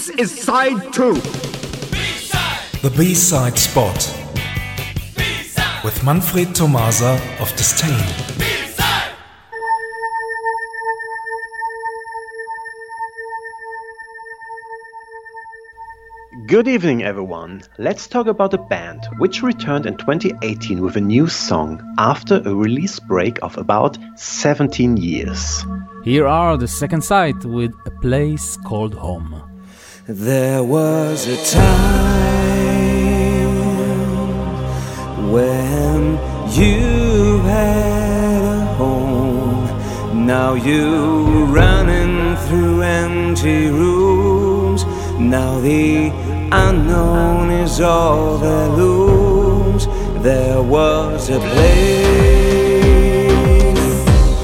This is side 2. B-side. The B-side spot. B-side. With Manfred Tomasa of Disdain. B-side. Good evening, everyone. Let's talk about a band which returned in 2018 with a new song after a release break of about 17 years. Here are the second side with A Place Called Home. There was a time when you had a home. Now you're running through empty rooms. Now the unknown is all that looms. There was a place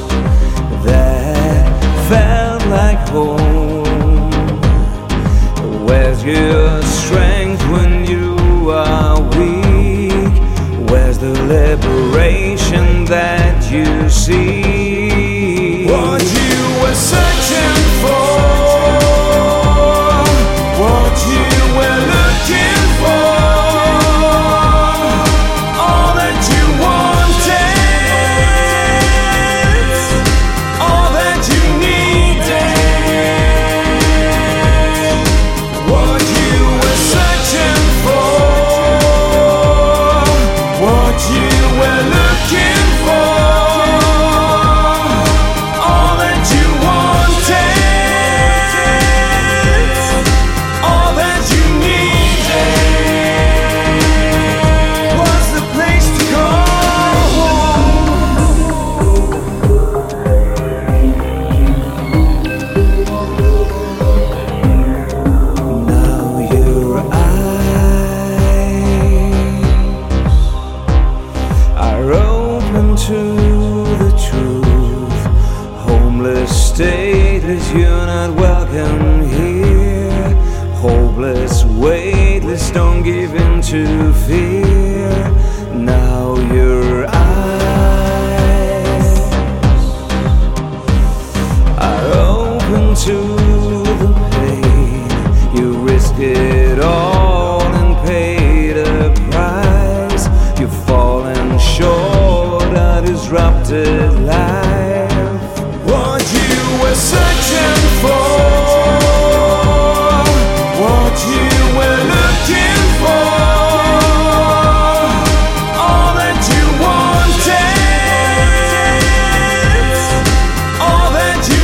that felt like home. Where's your strength when you are weak? Where's the liberation that you seek? What you were searching for, what you were looking for, all that you wanted, all that you needed, what you were searching for, what you were looking for, all that you wanted. Stateless, you're not welcome here. Hopeless, weightless, don't give in to fear. Now your eyes are open to the pain. You risk it all and pay the price. You've fallen short of disrupted life. What you were searching for, what you were looking for, all that you wanted, all that you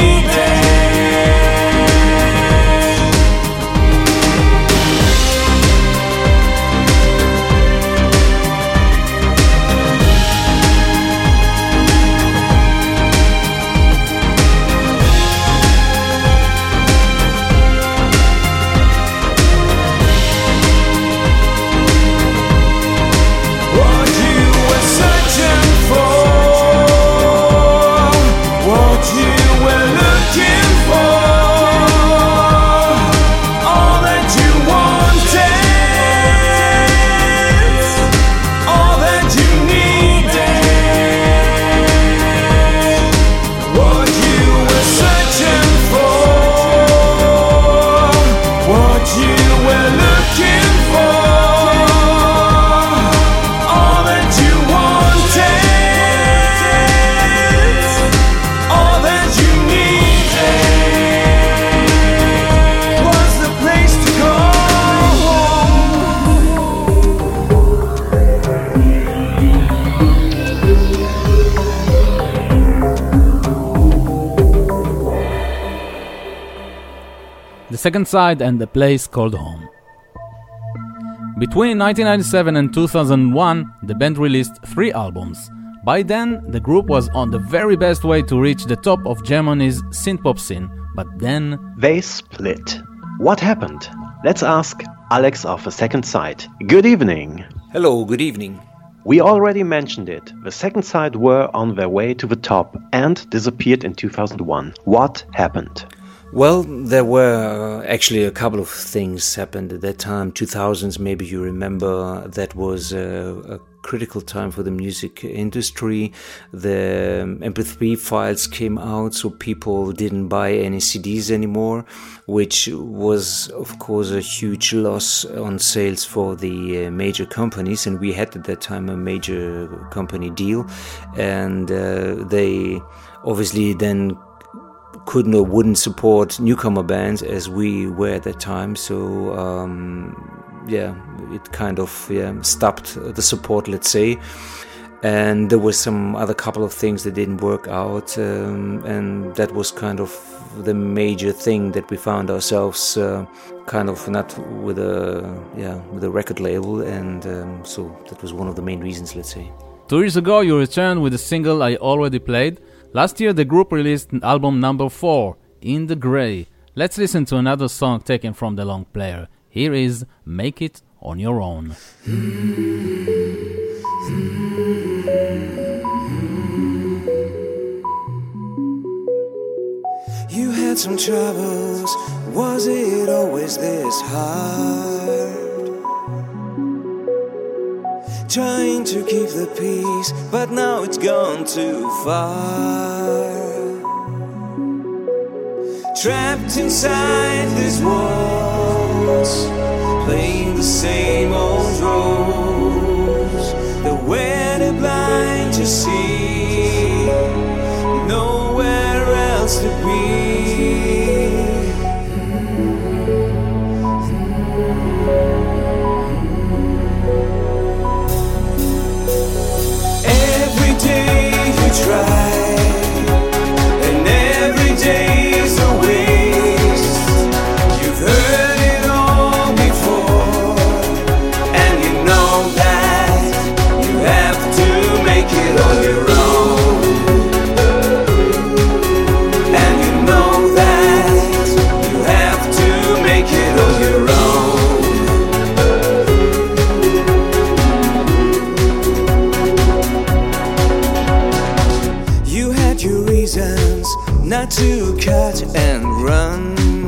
The second side and A Place Called Home. Between 1997 and 2001, the band released 3 albums. By then, the group was on the very best way to reach the top of Germany's synthpop scene, but then they split. What happened? Let's ask Alex of The Second Side. Good evening. Hello, good evening. We already mentioned it. The Second Side were on their way to the top and disappeared in 2001. What happened? Well, there were actually a couple of things happened at that time, 2000s, maybe you remember. That was a critical time for the music industry. The MP3 files came out, so people didn't buy any CDs anymore, which was, of course, a huge loss on sales for the major companies. And we had at that time a major company deal, and they obviously then couldn't or wouldn't support newcomer bands as we were at that time. So it kind of stopped the support, let's say. And there was some other couple of things that didn't work out, and that was kind of the major thing that we found ourselves kind of not with a record label, and so that was one of the main reasons, let's say. 2 years ago, you returned with a single I already played. Last year, the group released album number 4, In the Grey. Let's listen to another song taken from the long player. Here is Make It On Your Own. You had some troubles, was it always this hard? Trying to keep the peace, but now it's gone too far. Trapped inside these walls, playing the same old roles. The way they're blind to see, nowhere else to be. Every day you try, and every day's a waste. You've heard it all before, and you know that you have to make it on your own. And you know that you have to make it on your own. You had your reasons not to cut and run,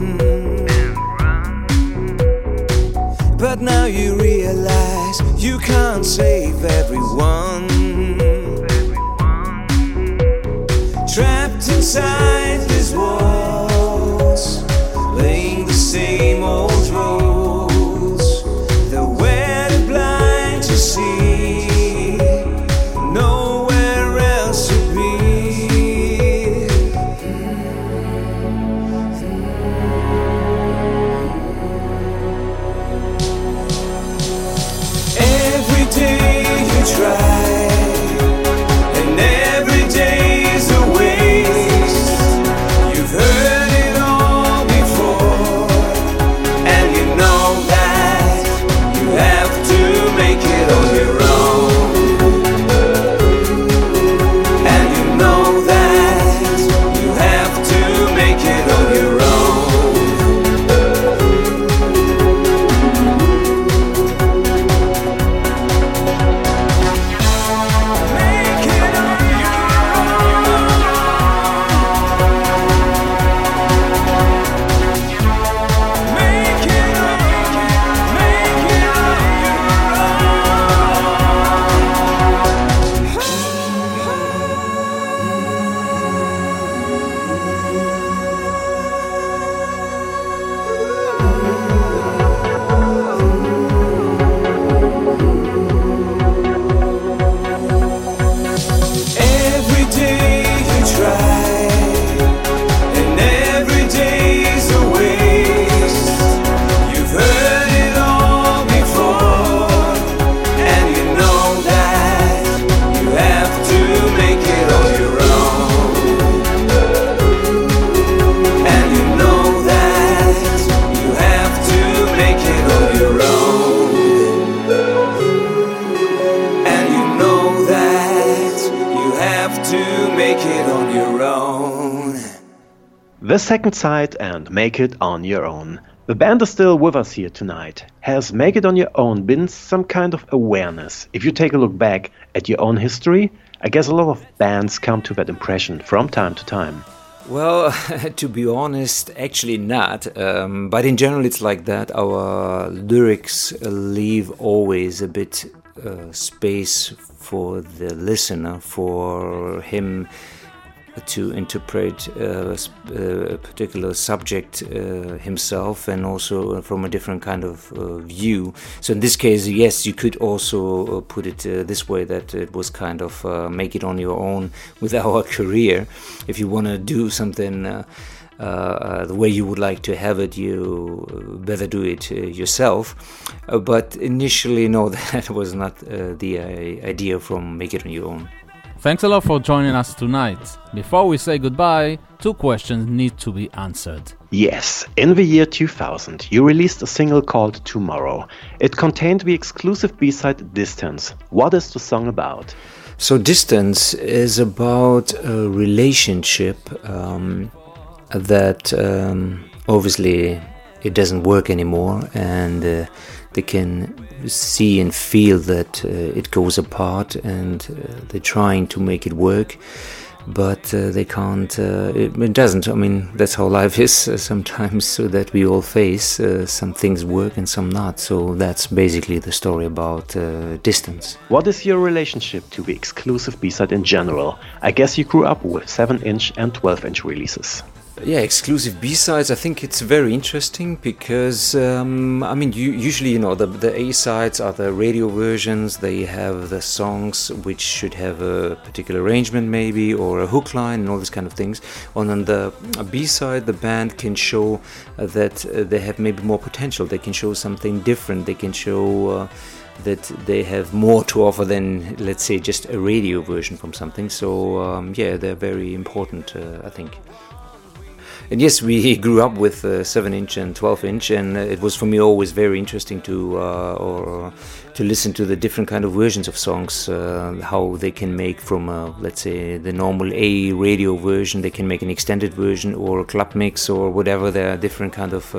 but now you realize you can't save everyone. Trapped inside these walls, playing the same old roles. The way they're blind to see, nowhere else to be. Every day you try, and every day's a waste. You've heard it all before, and you know that you have to make it on your own. And you know that you have to make it on your own. Make it on your own. Make it Every day you try, and every day's a waste. You've heard it all before, and you know that you have to make it on your own. And you know that you have to make it on your own. And you know that you have to make it on your own. The second side and Make It On Your Own. The band is still with us here tonight. Has Make It On Your Own been some kind of awareness? If you take a look back at your own history, I guess a lot of bands come to that impression from time to time. Well, to be honest, actually not. But in general, it's like that. Our lyrics leave always a bit space for the listener, for him to interpret a particular subject himself, and also from a different kind of view. So in this case, yes, you could also put it this way, that it was kind of make it on your own with our career. If you want to do something the way you would like to have it, you better do it yourself. But initially, no, that was not the idea from Make It On Your Own. Thanks a lot for joining us tonight. Before we say goodbye, 2 questions need to be answered. Yes, in the year 2000, you released a single called Tomorrow. It contained the exclusive B-side Distance. What is the song about? So Distance is about a relationship that obviously it doesn't work anymore, and they can see and feel that it goes apart, and they're trying to make it work, but they can't. It doesn't. I mean, that's how life is sometimes, so that we all face some things work and some not. So that's basically the story about Distance. What is your relationship to the exclusive B-side in general? I guess you grew up with 7-inch and 12-inch releases. Yeah, exclusive B-sides, I think it's very interesting because, I mean, usually, the A-sides are the radio versions. They have the songs which should have a particular arrangement maybe, or a hook line and all these kind of things. On the B-side, the band can show that they have maybe more potential. They can show something different. They can show that they have more to offer than, let's say, just a radio version from something. So, yeah, they're very important, I think. And yes, we grew up with 7-inch and 12-inch, and it was for me always very interesting to listen to the different kind of versions of songs, how they can make from, let's say, the normal A radio version, they can make an extended version or a club mix or whatever. There are different kind of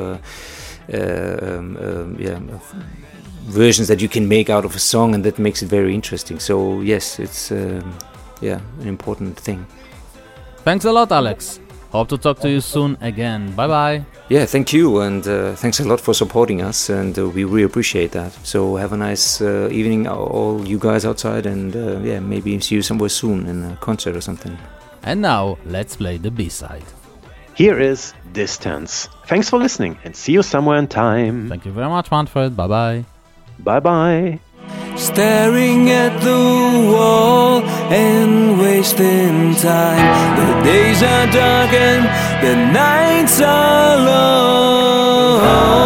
versions that you can make out of a song, and that makes it very interesting. So yes, it's an important thing. Thanks a lot, Alex. Hope to talk to you soon again. Bye-bye. Yeah, thank you, and thanks a lot for supporting us, and we really appreciate that. So have a nice evening, all you guys outside, and maybe see you somewhere soon in a concert or something. And now, let's play the B-side. Here is Distance. Thanks for listening, and see you somewhere in time. Thank you very much, Manfred. Bye-bye. Bye-bye. Staring at the wall and wasting time. The days are dark and the nights are long.